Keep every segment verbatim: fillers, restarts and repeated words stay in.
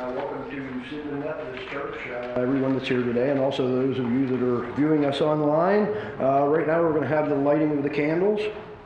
welcome to Sidman Methodist Church, uh, everyone that's here today, and also those of you that are viewing us online. Uh, right now we're going to have the lighting of the candles.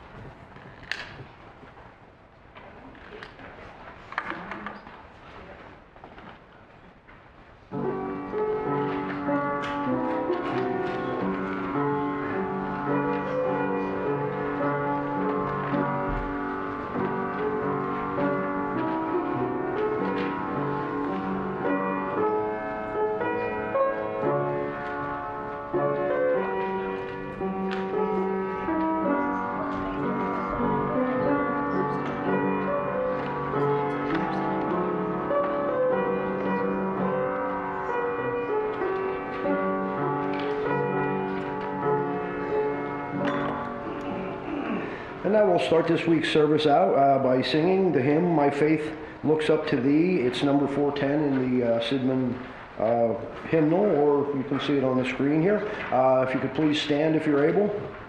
And now we'll start this week's service out uh, by singing the hymn, My Faith Looks Up to Thee. It's number four ten in the uh, Sidman uh, hymnal, or you can see it on the screen here. Uh, if you could please stand if you're able.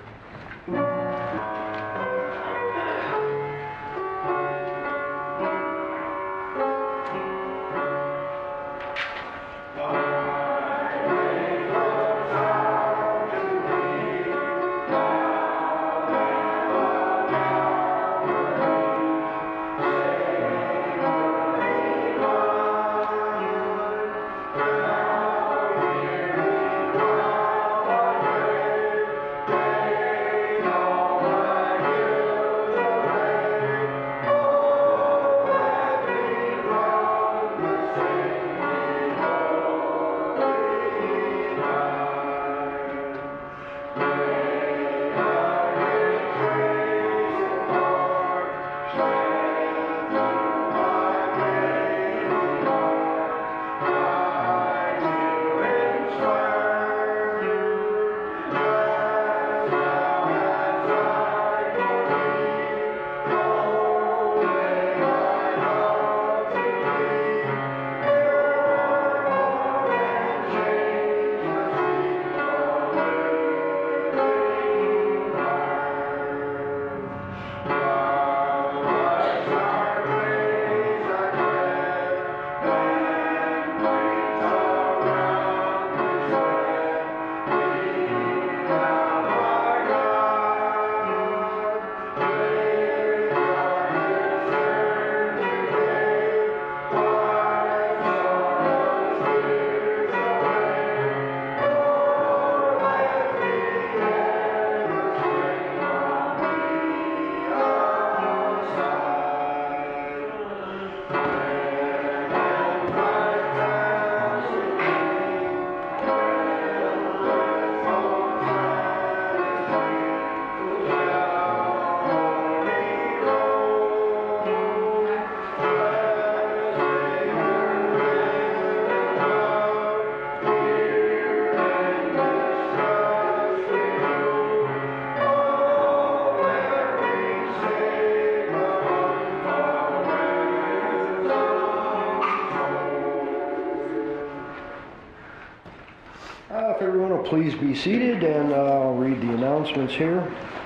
Please be seated, and uh, I'll read the announcements here.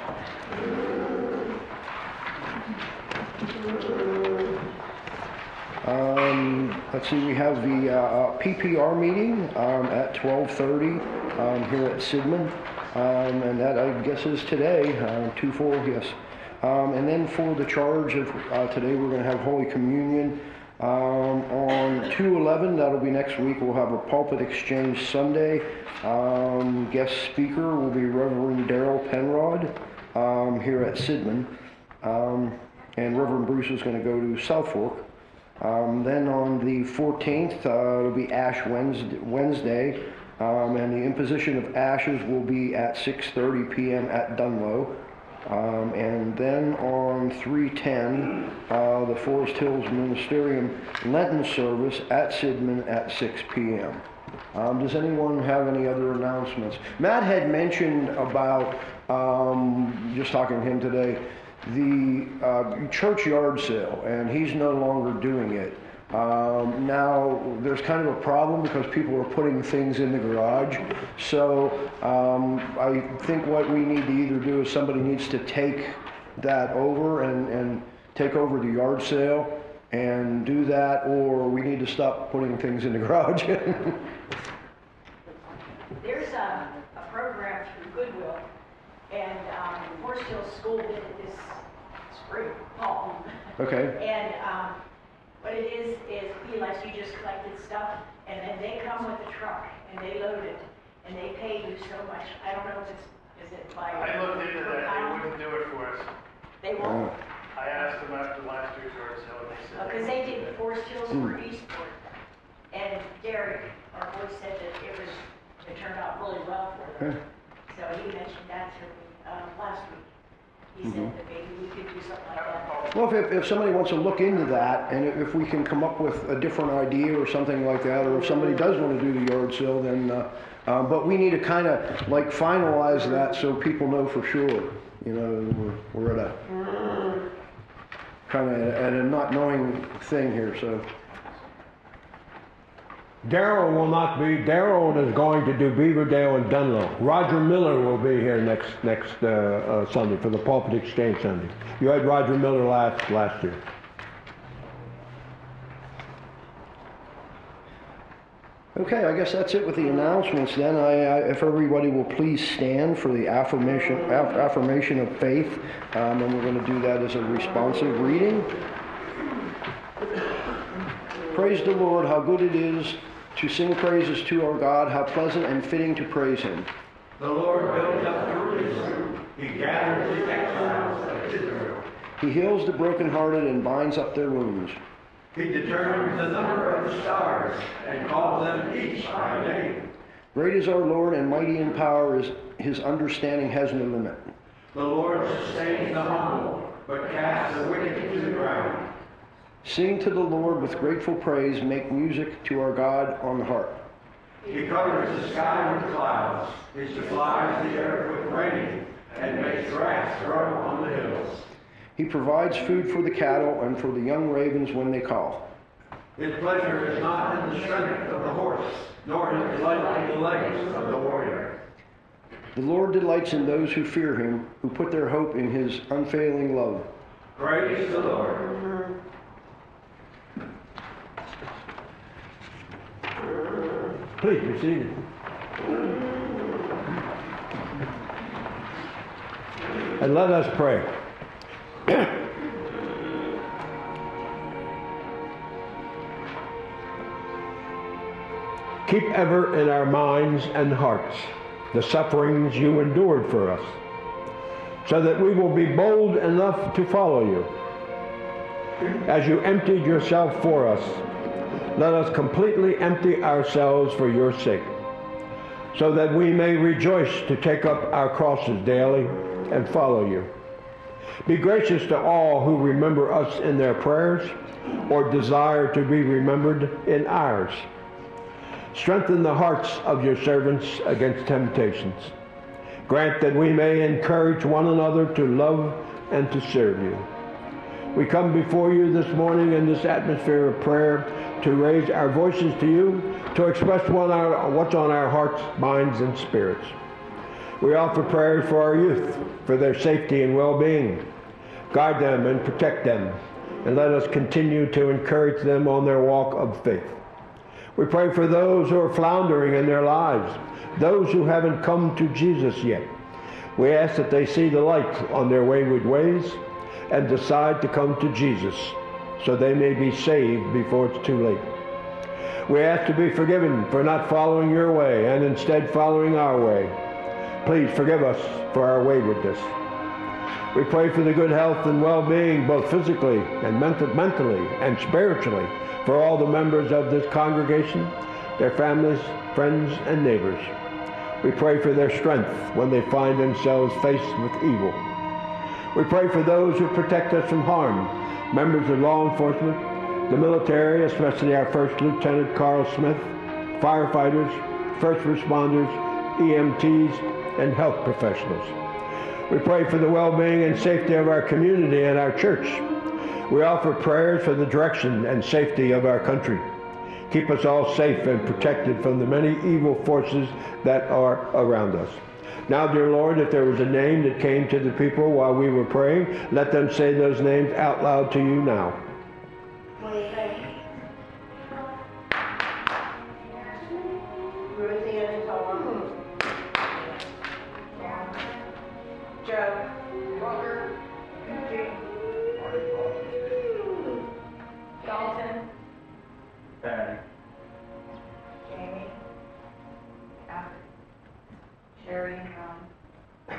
Um, let's see, we have the uh, P P R meeting um, at twelve thirty um, here at Sidman, um, and that I guess is today, uh, two four, yes. Um, and then for the charge of uh, today, we're going to have Holy Communion. Um, on two eleven, that'll be next week, we'll have a pulpit exchange Sunday. Um, guest speaker will be Reverend Daryl Penrod um, here at Sidman. Um, and Reverend Bruce is going to go to South Fork. Um, then on the fourteenth, uh, it'll be Ash Wednesday, Wednesday um, and the imposition of ashes will be at six thirty p.m. at Dunlow. Um, and then on three ten, uh, the Forest Hills Ministerium Lenten service at Sidman at six p.m. Um, does anyone have any other announcements? Matt had mentioned about, um, just talking to him today, the uh, church yard sale, and he's no longer doing it. Um, now, there's kind of a problem because people are putting things in the garage. So um, I think what we need to either do is somebody needs to take that over and, and take over the yard sale and do that, or we need to stop putting things in the garage. There's a, a program through Goodwill, and um, Forest Hill School did it this spring, fall. Okay. And um, what it is, is be like you just collected stuff, and then they come with a truck, and they load it, and they pay you so much. I don't know if it's, is it by... I looked into that, they wouldn't do it for us. They won't? I asked them after last year's yard sale, and they said... Because they did Forest Hills for Eastport, and Derek, our boy, said that it was, it turned out really well for them. So he mentioned that to me um, last week. He said that maybe we could do something like that. Well, if, if somebody wants to look into that, and if we can come up with a different idea or something like that, or if somebody does want to do the yard sale, then, uh, uh, but we need to kind of like finalize that so people know for sure. You know, we're, we're at a kind of at a not knowing thing here, so. Darrell will not be, Darrell is going to do Beaverdale and Dunlow. Roger Miller will be here next next uh, uh, Sunday for the Pulpit Exchange Sunday. You had Roger Miller last last year. Okay, I guess that's it with the announcements then. I, I, if everybody will please stand for the affirmation, aff affirmation of faith, um, and we're going to do that as a responsive reading. Praise the Lord, how good it is to sing praises to our God, how pleasant and fitting to praise Him. The Lord builds up Jerusalem. He gathers the exiles of Israel. He heals the brokenhearted and binds up their wounds. He determines the number of the stars and calls them each by name. Great is our Lord, and mighty in power is His understanding has no limit. The Lord sustains the humble, but casts the wicked to the ground. Sing to the Lord with grateful praise, make music to our God on the harp. He covers the sky with clouds. He supplies the earth with rain and makes grass grow on the hills. He provides food for the cattle and for the young ravens when they call. His pleasure is not in the strength of the horse, nor his delight in the legs of the warrior. The Lord delights in those who fear Him, who put their hope in His unfailing love. Praise the Lord. Please be seated. And let us pray. Keep ever in our minds and hearts the sufferings you endured for us, so that we will be bold enough to follow you. As you emptied yourself for us, let us completely empty ourselves for your sake, so that we may rejoice to take up our crosses daily and follow you. Be gracious to all who remember us in their prayers or desire to be remembered in ours. Strengthen the hearts of your servants against temptations. Grant that we may encourage one another to love and to serve you. We come before you this morning in this atmosphere of prayer to raise our voices to you, to express one our, what's on our hearts, minds, and spirits. We offer prayers for our youth, for their safety and well-being. Guide them and protect them, and let us continue to encourage them on their walk of faith. We pray for those who are floundering in their lives, those who haven't come to Jesus yet. We ask that they see the light on their wayward ways and decide to come to Jesus, so they may be saved before it's too late. We ask to be forgiven for not following your way and instead following our way. Please forgive us for our waywardness. We pray for the good health and well-being, both physically and mental, mentally and spiritually, for all the members of this congregation, their families, friends, and neighbors. We pray for their strength when they find themselves faced with evil. We pray for those who protect us from harm, members of law enforcement, the military, especially our First Lieutenant Carl Smith, firefighters, first responders, E M Ts, and health professionals. We pray for the well-being and safety of our community and our church. We offer prayers for the direction and safety of our country. Keep us all safe and protected from the many evil forces that are around us. Now, dear Lord, if there was a name that came to the people while we were praying, let them say those names out loud to you now. What do you think? Ruth Ann and Tom. Joe. Walker. Jim. Dalton. Patty. Jamie. Alfred. Sherry and Ron.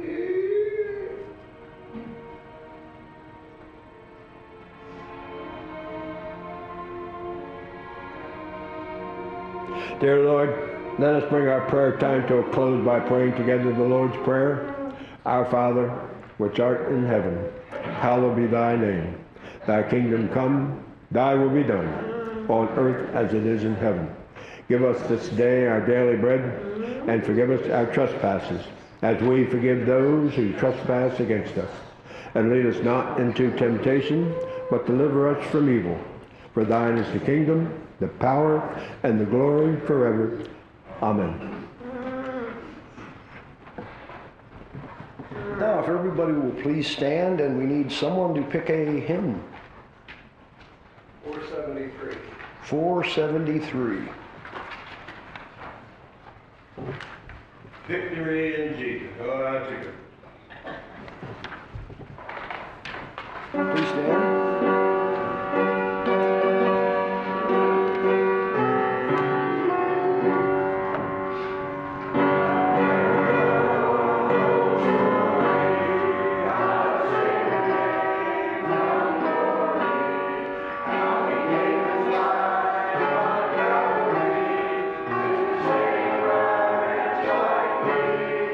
Dear Lord, let us bring our prayer time to a close by praying together the Lord's Prayer. Our Father, which art in heaven, hallowed be thy name. Thy kingdom come, thy will be done, on earth as it is in heaven. Give us this day our daily bread, and forgive us our trespasses, as we forgive those who trespass against us. And lead us not into temptation, but deliver us from evil. For thine is the kingdom, the power, and the glory forever. Amen. Now, if everybody will please stand, and we need someone to pick a hymn. four seventy-three. four seventy-three. Victory in Jesus. Oh, that's a good. Please stand.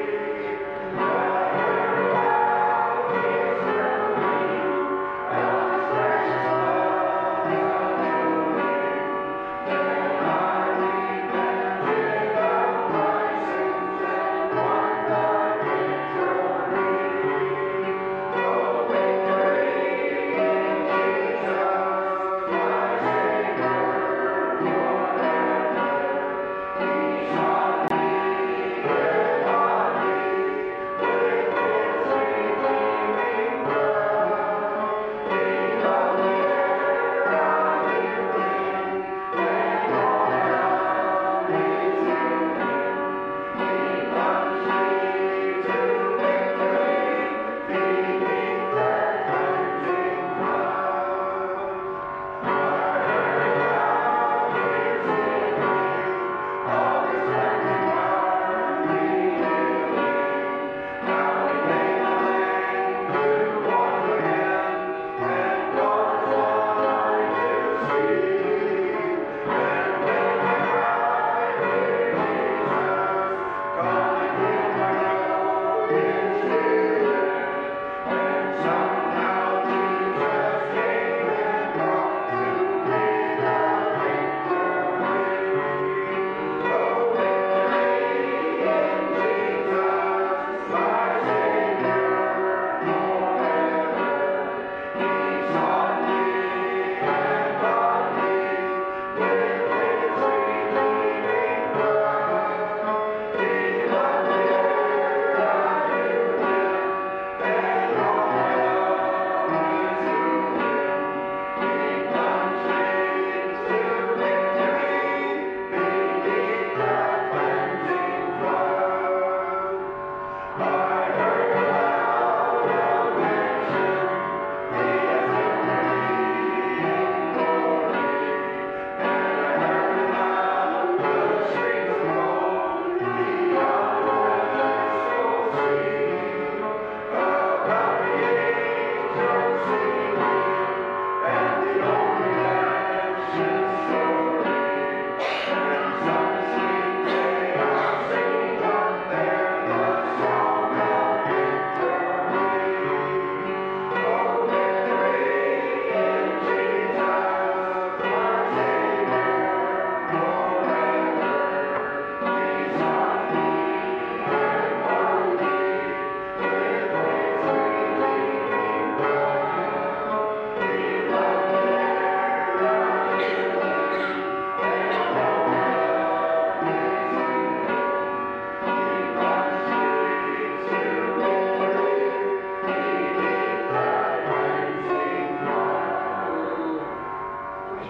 Victory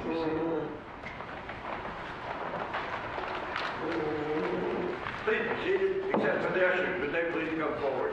Please be seated, except for the ushers, but they please come forward.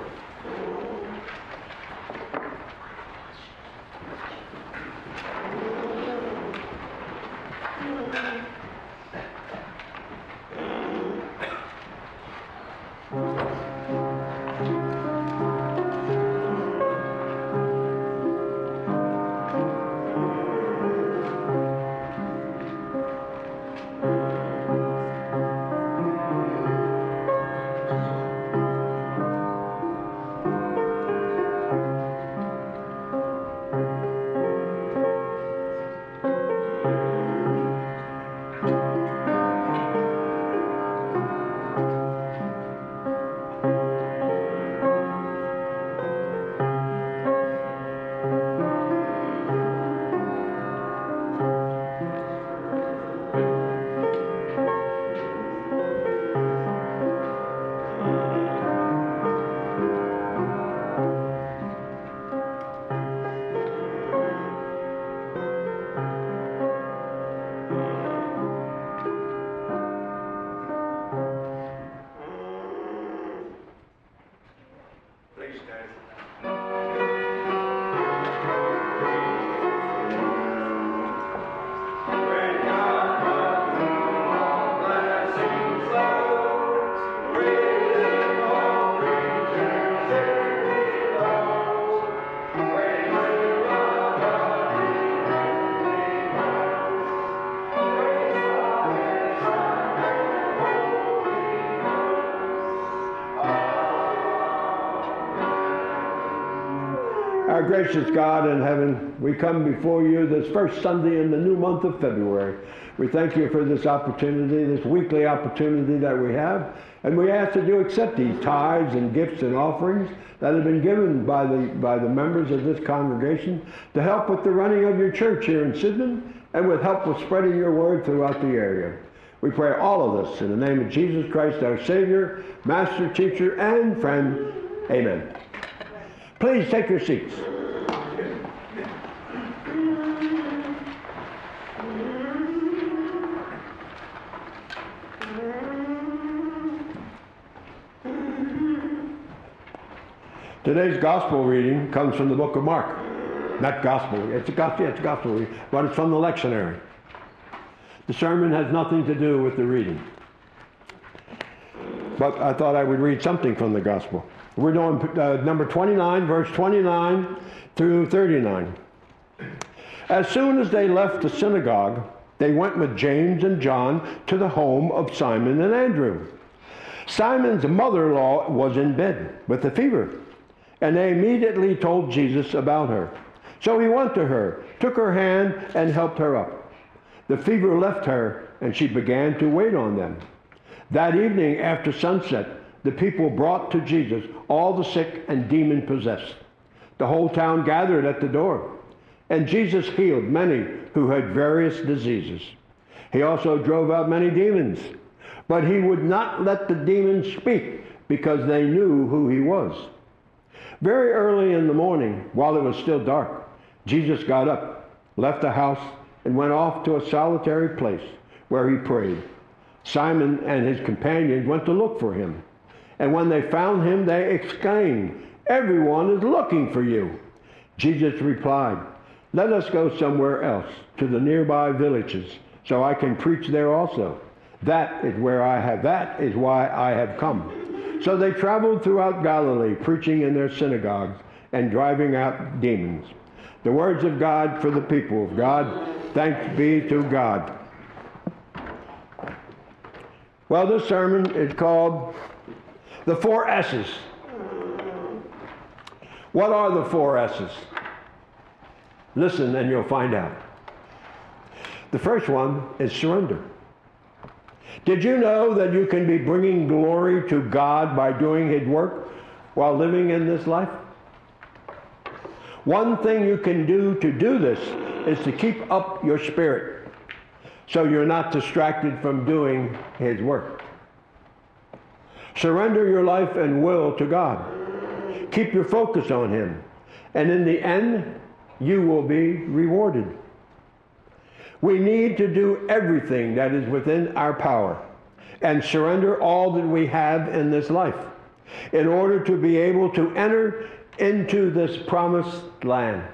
Please stand. When God comes, all blessings flow, raising all creatures it belongs. Praise to our God, the heavenly ones. Praise Father, Son, and Holy Ghost. Our gracious God in heaven, we come before you this first Sunday in the new month of February. We thank you for this opportunity, this weekly opportunity that we have, and we ask that you accept these tithes and gifts and offerings that have been given by the, by the members of this congregation to help with the running of your church here in Sidman and with help with spreading your word throughout the area. We pray all of this in the name of Jesus Christ, our Savior, Master, Teacher, and Friend. Amen. Please take your seats. Today's gospel reading comes from the book of Mark. Not gospel, it's a gospel, it's a gospel reading, but it's from the lectionary. The sermon has nothing to do with the reading. But I thought I would read something from the gospel. We're doing uh, number twenty-nine, verse twenty-nine through thirty-nine. As soon as they left the synagogue, they went with James and John to the home of Simon and Andrew. Simon's mother-in-law was in bed with a fever, and they immediately told Jesus about her. So he went to her, took her hand, and helped her up. The fever left her, and she began to wait on them. That evening, after sunset, the people brought to Jesus all the sick and demon-possessed. The whole town gathered at the door, and Jesus healed many who had various diseases. He also drove out many demons, but he would not let the demons speak because they knew who he was. Very early in the morning, while it was still dark, Jesus got up, left the house, and went off to a solitary place where he prayed. Simon and his companions went to look for him. And when they found him, they exclaimed, "Everyone is looking for you." Jesus replied, "Let us go somewhere else, to the nearby villages, so I can preach there also. That is where I have, that is why I have come." So they traveled throughout Galilee, preaching in their synagogues and driving out demons. The words of God for the people of God. Thanks be to God. Well, this sermon is called The Four S's. What are the four S's? Listen and you'll find out. The first one is surrender. Did you know that you can be bringing glory to God by doing his work while living in this life? One thing you can do to do this is to keep up your spirit so you're not distracted from doing his work. Surrender your life and will to God. Keep your focus on him, and in the end, you will be rewarded. We need to do everything that is within our power and surrender all that we have in this life in order to be able to enter into this promised land.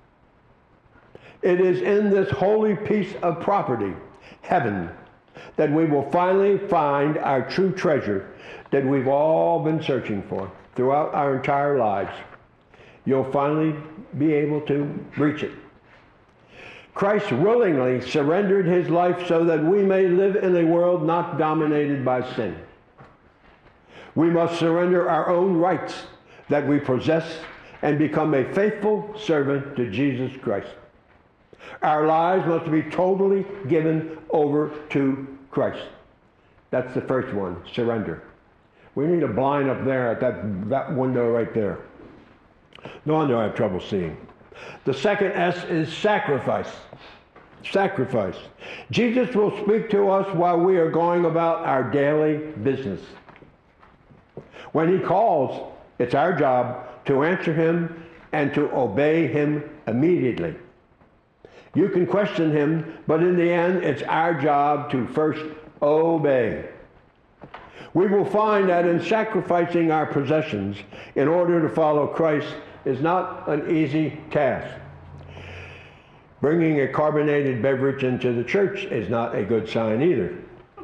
It is in this holy piece of property, heaven, that we will finally find our true treasure that we've all been searching for throughout our entire lives. You'll finally be able to reach it. Christ willingly surrendered his life so that we may live in a world not dominated by sin. We must surrender our own rights that we possess and become a faithful servant to Jesus Christ. Our lives must be totally given over to Christ. That's the first one, surrender. We need a blind up there at that, that window right there. No wonder I have trouble seeing. The second S is sacrifice. Sacrifice. Jesus will speak to us while we are going about our daily business. When he calls, it's our job to answer him and to obey him immediately. You can question him, but in the end, it's our job to first obey. We will find that in sacrificing our possessions in order to follow Christ is not an easy task. Bringing a carbonated beverage into the church is not a good sign either.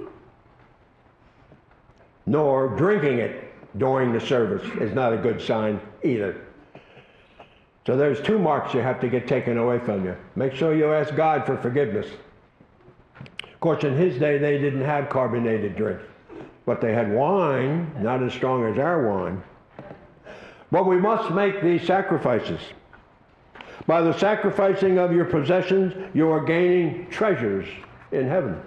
Nor drinking it during the service is not a good sign either. So there's two marks you have to get taken away from you. Make sure you ask God for forgiveness. Of course, in his day, they didn't have carbonated drink, but they had wine, not as strong as our wine. But we must make these sacrifices. By the sacrificing of your possessions, you are gaining treasures in heaven.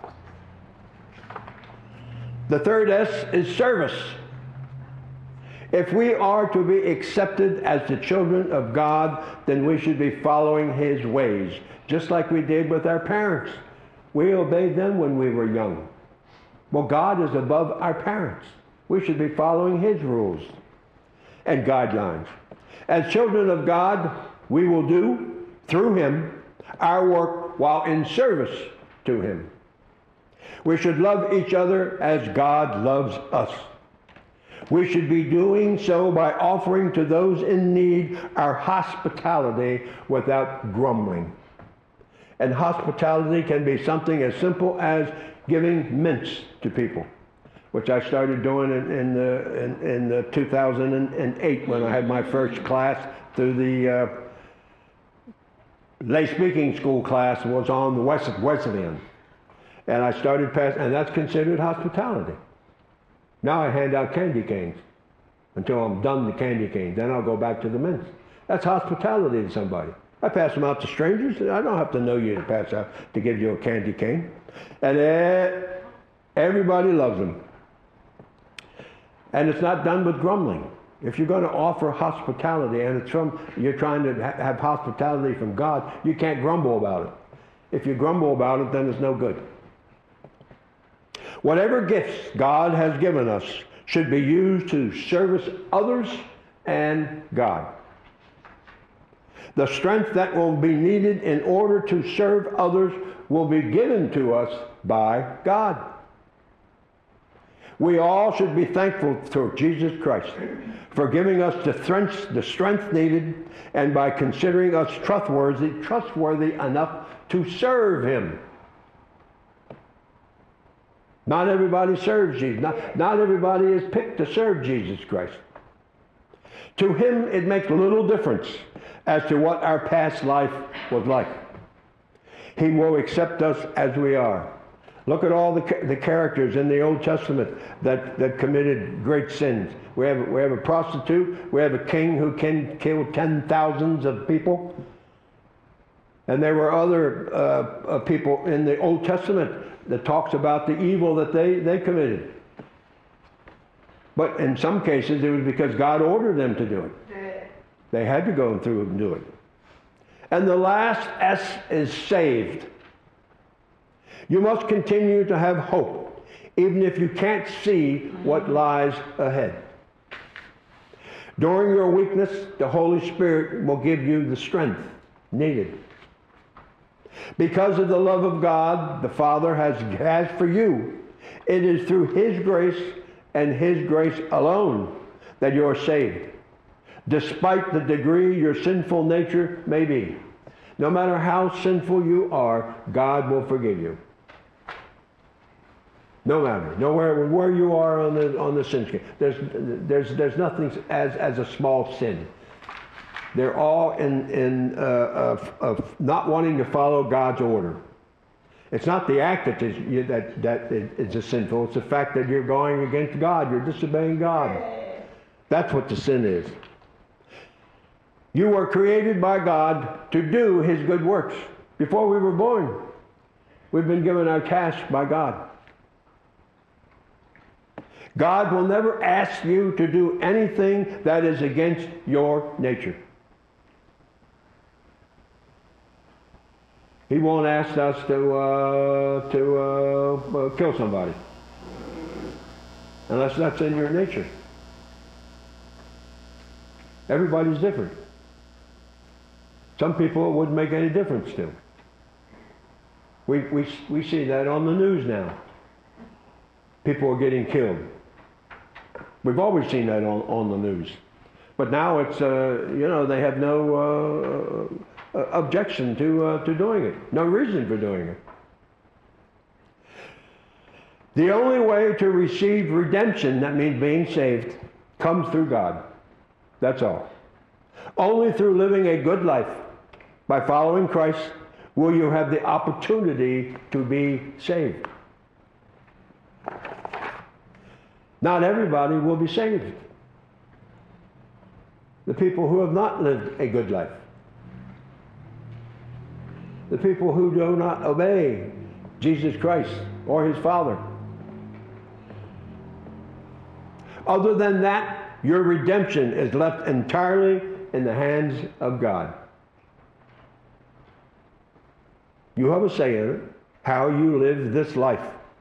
The third S is service. If we are to be accepted as the children of God, then we should be following his ways, just like we did with our parents. We obeyed them when we were young. Well, God is above our parents. We should be following his rules and guidelines. As children of God, we will do, through him, our work while in service to him. We should love each other as God loves us. We should be doing so by offering to those in need our hospitality without grumbling. And hospitality can be something as simple as giving mints to people, which I started doing in, in, the, in, in the two thousand eight when I had my first class through the uh, lay speaking school class was on the West, Wesleyan. And I started passing, and that's considered hospitality. Now I hand out candy canes until I'm done the candy cane. Then I'll go back to the mints. That's hospitality to somebody. I pass them out to strangers. I don't have to know you to pass out to give you a candy cane. And everybody loves them. And it's not done with grumbling. If you're going to offer hospitality and it's from, you're trying to ha- have hospitality from God, you can't grumble about it. If you grumble about it, then it's no good. Whatever gifts God has given us should be used to service others and God. The strength that will be needed in order to serve others will be given to us by God. We all should be thankful to Jesus Christ for giving us the strength, the strength needed and by considering us trustworthy, trustworthy enough to serve him. Not everybody serves Jesus. Not, not everybody is picked to serve Jesus Christ. To him, it makes little difference as to what our past life was like. He will accept us as we are. Look at all the, the characters in the Old Testament that, that committed great sins. We have, we have a prostitute. We have a king who can kill ten thousands of people. And there were other uh, uh, people in the Old Testament that talks about the evil that they, they committed. But in some cases, it was because God ordered them to do it. They had to go through and do it. And the last S is saved. You must continue to have hope, even if you can't see what lies ahead. During your weakness, the Holy Spirit will give you the strength needed. Because of the love of God the Father has, has for you, it is through His grace and His grace alone that you are saved, despite the degree your sinful nature may be. No matter how sinful you are, God will forgive you. No matter, nowhere where you are on the on the sin scale. There's there's there's nothing as as a small sin. They're all in in uh, of, of not wanting to follow God's order. It's not the act that is you, that that is a sinful. It's the fact that you're going against God. You're disobeying God. That's what the sin is. You were created by God to do His good works. Before we were born, we've been given our task by God. God will never ask you to do anything that is against your nature. He won't ask us to uh, to uh, uh, kill somebody unless that's in your nature. Everybody's different. Some people it wouldn't make any difference to. We, we, we see that on the news now. People are getting killed. We've always seen that on, on the news. But now it's, uh, you know, they have no uh, uh, objection to, uh, to doing it. No reason for doing it. The only way to receive redemption, that means being saved, comes through God. That's all. Only through living a good life, by following Christ, will you have the opportunity to be saved. Not everybody will be saved. The people who have not lived a good life. The people who do not obey Jesus Christ or His Father. Other than that, your redemption is left entirely in the hands of God. You have a say in it, how you live this life.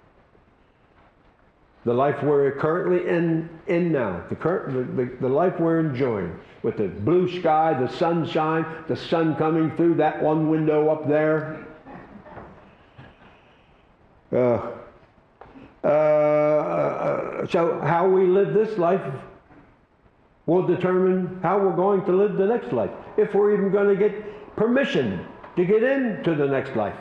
The life we're currently in, in now, the, current, the, the, the life we're enjoying, with the blue sky, the sunshine, the sun coming through that one window up there. Uh, uh, uh, so how we live this life will determine how we're going to live the next life, if we're even going to get permission to get into the next life.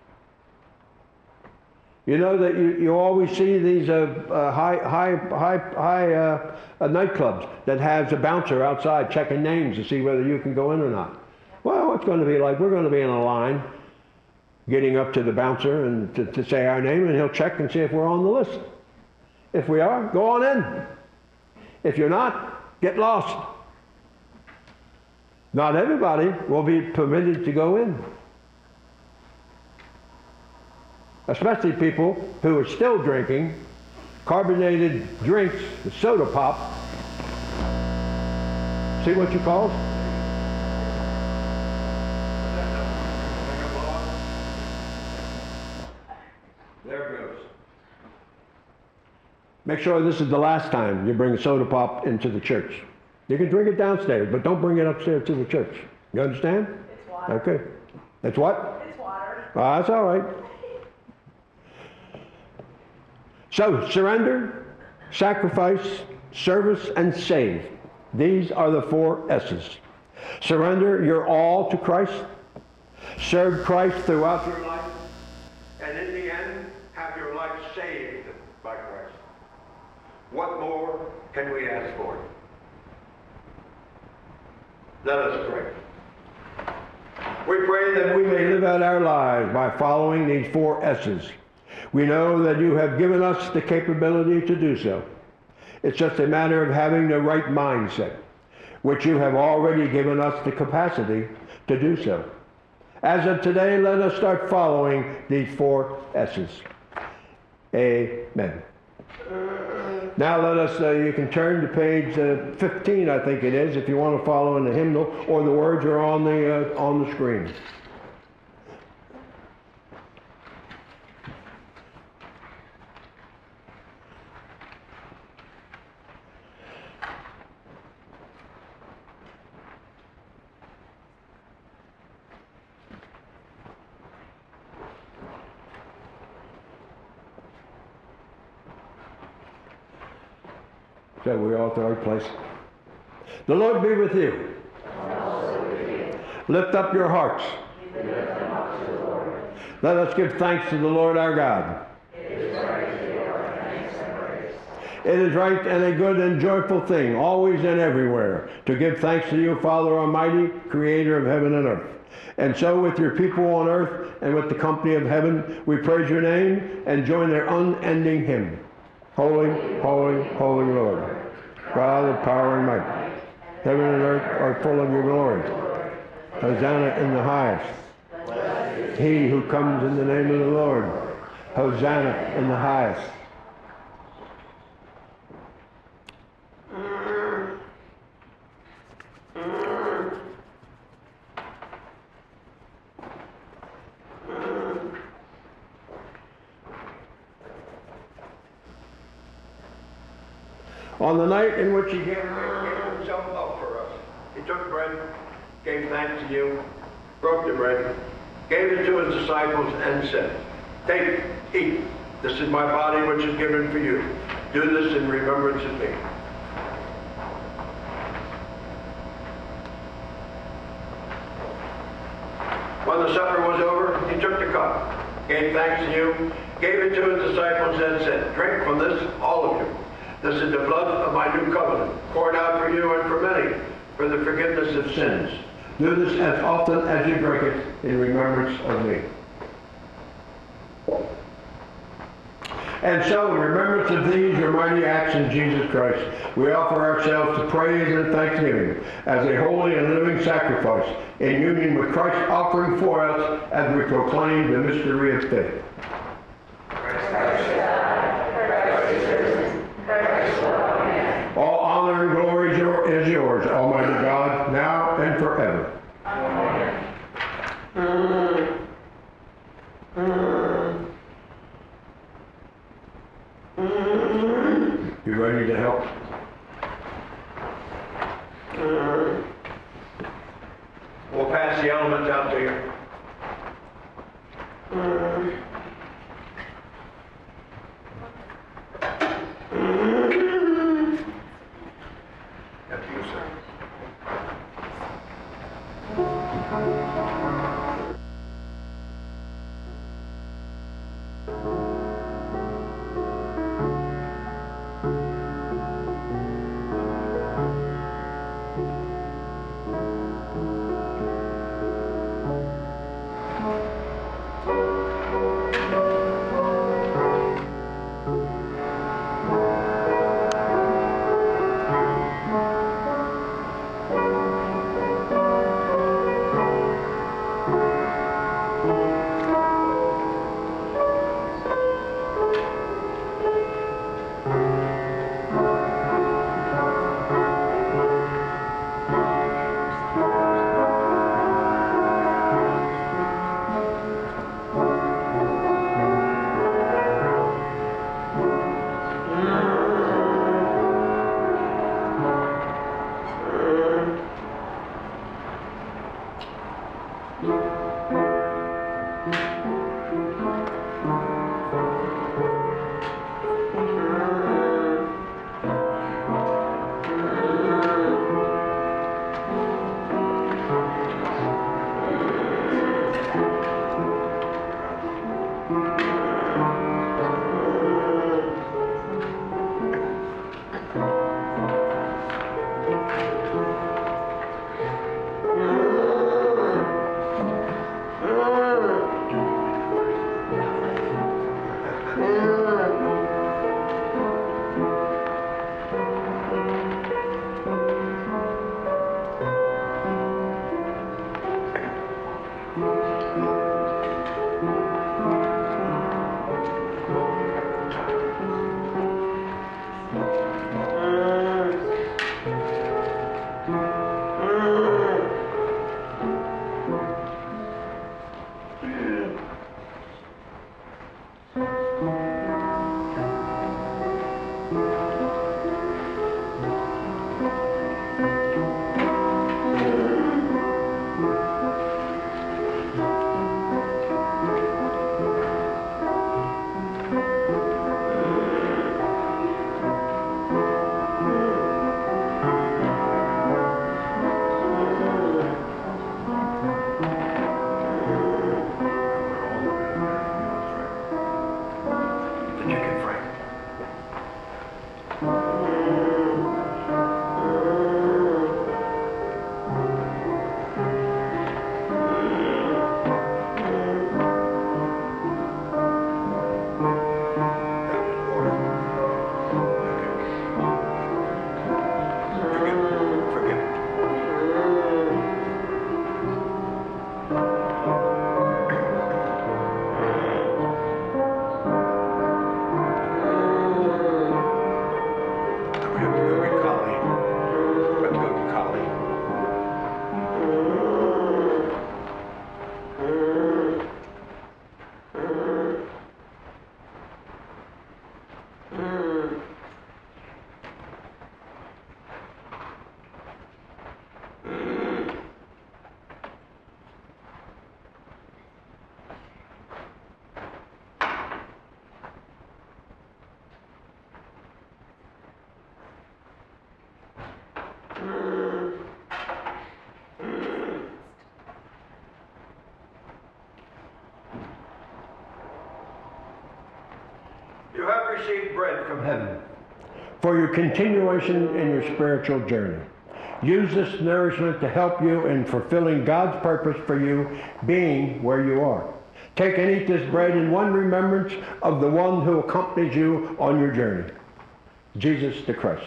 You know that you, you always see these uh, uh, high high high high uh, uh, nightclubs that has a bouncer outside checking names to see whether you can go in or not. Well, it's going to be like we're going to be in a line, getting up to the bouncer and to, to say our name, and he'll check and see if we're on the list. If we are, go on in. If you're not, get lost. Not everybody will be permitted to go in. Especially people who are still drinking carbonated drinks, the soda pop. See what you call it? There it goes. Make sure this is the last time you bring a soda pop into the church. You can drink it downstairs, but don't bring it upstairs to the church. You understand? It's water. Okay. It's what? It's water. Ah, that's all right. So, surrender, sacrifice, service, and save. These are the four S's. Surrender your all to Christ. Serve Christ throughout your life. And in the end, have your life saved by Christ. What more can we ask for? Let us pray. We pray that we may live out our lives by following these four S's. We know that you have given us the capability to do so. It's just a matter of having the right mindset, which you have already given us the capacity to do so. As of today, let us start following these four S's. Amen. Now let us, uh, you can turn to page uh, fifteen, I think it is, if you want to follow in the hymnal, or the words are on the, uh, on the screen. So we all to our place. The Lord be with you. Lift up your hearts. Let us give thanks to the Lord our God. It is right and a good and joyful thing, always and everywhere, to give thanks to you, Father Almighty, creator of heaven and earth. And so with your people on earth and with the company of heaven, we praise your name and join their unending hymn. Holy, holy, holy Lord, God of power and might. Heaven and earth are full of your glory. Hosanna in the highest. He who comes in the name of the Lord. Hosanna in the highest. On the night in which he gave, gave himself up for us, he took bread, gave thanks to you, broke the bread, gave it to his disciples, and said, "Take, eat. This is my body which is given for you. Do this in remembrance of me." When the supper was over, he took the cup, gave thanks to you, gave it to his disciples, and said, "Drink from this, all of you. This is the blood of my new covenant, poured out for you and for many, for the forgiveness of sins. Do this as often as you drink it in remembrance of me." And so, in remembrance of these, your mighty acts in Jesus Christ, we offer ourselves to praise and thanksgiving as a holy and living sacrifice in union with Christ's offering for us as we proclaim the mystery of faith. All honor and glory is your- is yours, Almighty God, now and forever. Amen. You ready to help? We'll pass the elements out to you. After you, sir. the chicken frame. You have received bread from heaven. For your continuation in your spiritual journey. Use this nourishment to help you in fulfilling God's purpose for you being where you are. Take and eat this bread in one remembrance of the one who accompanies you on your journey, Jesus the Christ.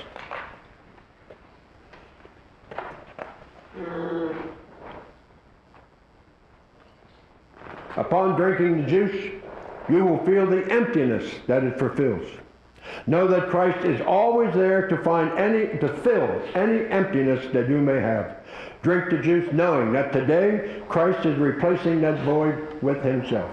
Upon drinking the juice, you will feel the emptiness that it fulfills. Know that Christ is always there to find any, to fill any emptiness that you may have. Drink the juice knowing that today Christ is replacing that void with himself.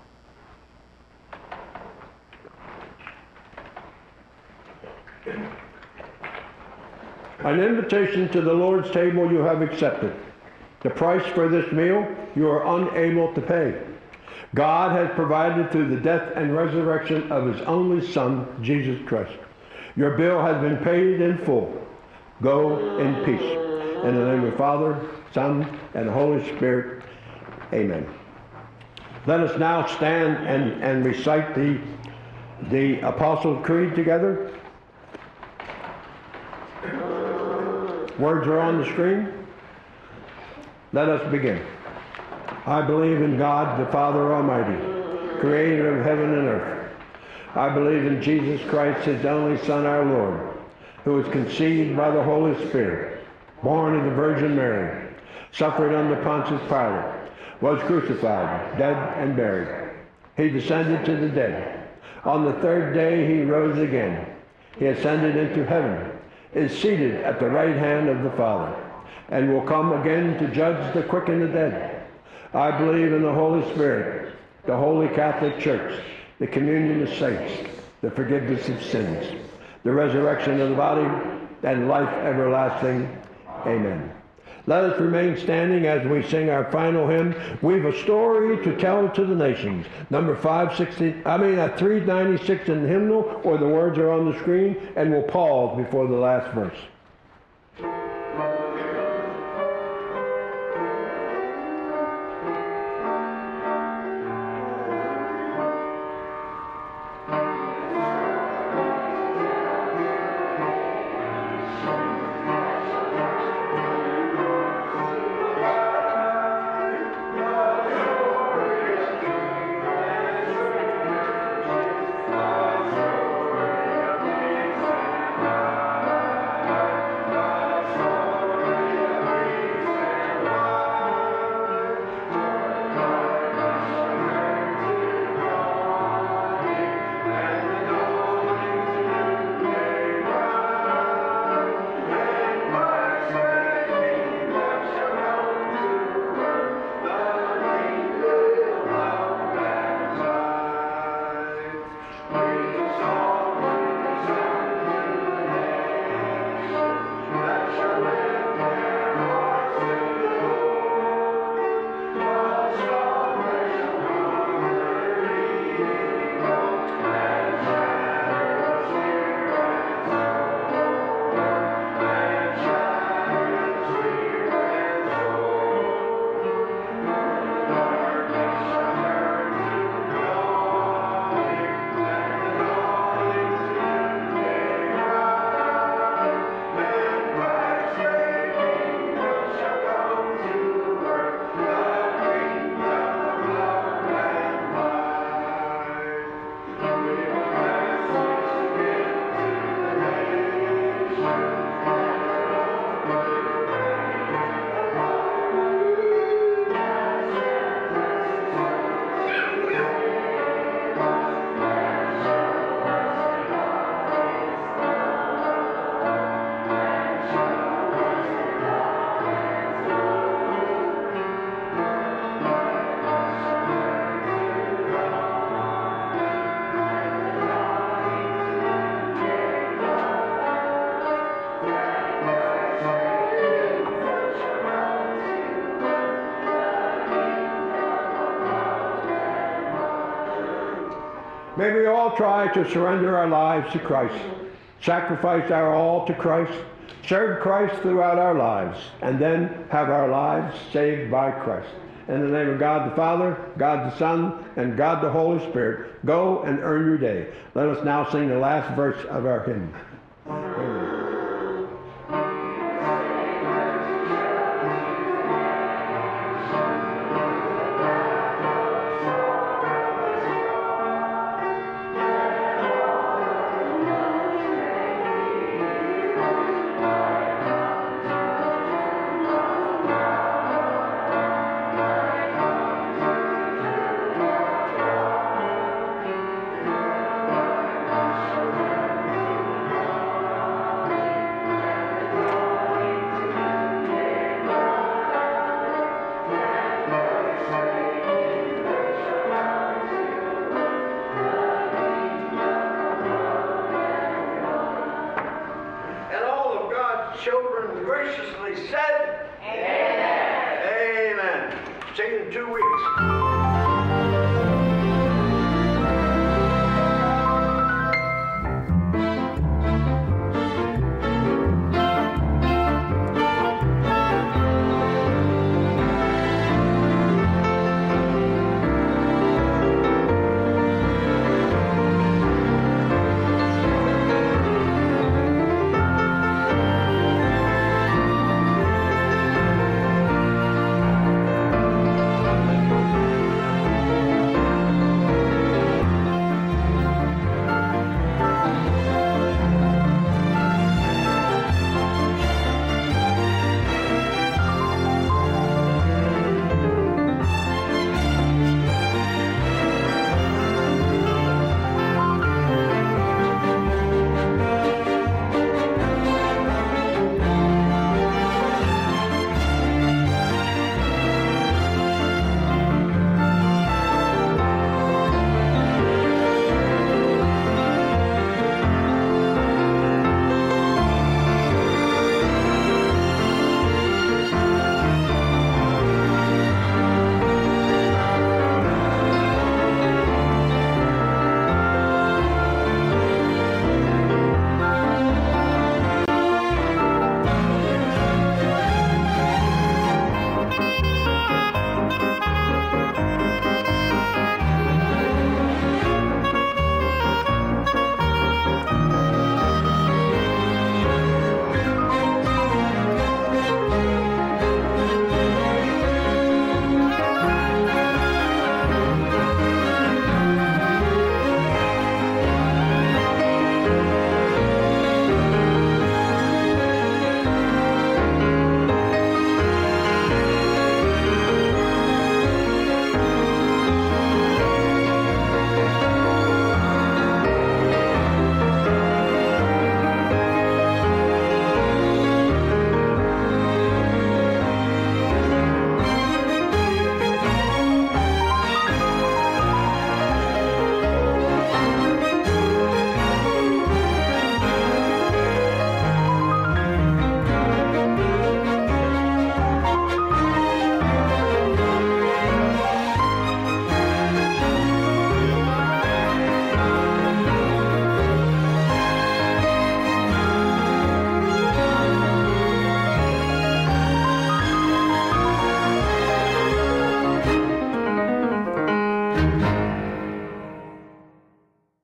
An invitation to the Lord's table you have accepted. The price for this meal you are unable to pay. God has provided through the death and resurrection of his only Son, Jesus Christ. Your bill has been paid in full. Go in peace. In the name of the Father, Son, and the Holy Spirit. Amen. Let us now stand and, and recite the, the Apostles' Creed together. Words are on the screen. Let us begin. I believe in God, the Father Almighty, creator of heaven and earth. I believe in Jesus Christ, his only Son, our Lord, who was conceived by the Holy Spirit, born of the Virgin Mary, suffered under Pontius Pilate, was crucified, dead, and buried. He descended to the dead. On the third day he rose again. He ascended into heaven, is seated at the right hand of the Father, and will come again to judge the quick and the dead. I believe in the Holy Spirit, the Holy Catholic Church, the communion of saints, the forgiveness of sins, the resurrection of the body, and life everlasting. Amen. Let us remain standing as we sing our final hymn, We've a Story to Tell to the Nations. Number five sixty, I mean at three ninety-six in the hymnal, or the words are on the screen, and we'll pause before the last verse. May we all try to surrender our lives to Christ, sacrifice our all to Christ, serve Christ throughout our lives, and then have our lives saved by Christ. In the name of God the Father, God the Son, and God the Holy Spirit, go and earn your day. Let us now sing the last verse of our hymn. Amen. Children graciously said, Amen. Amen. See you in two weeks.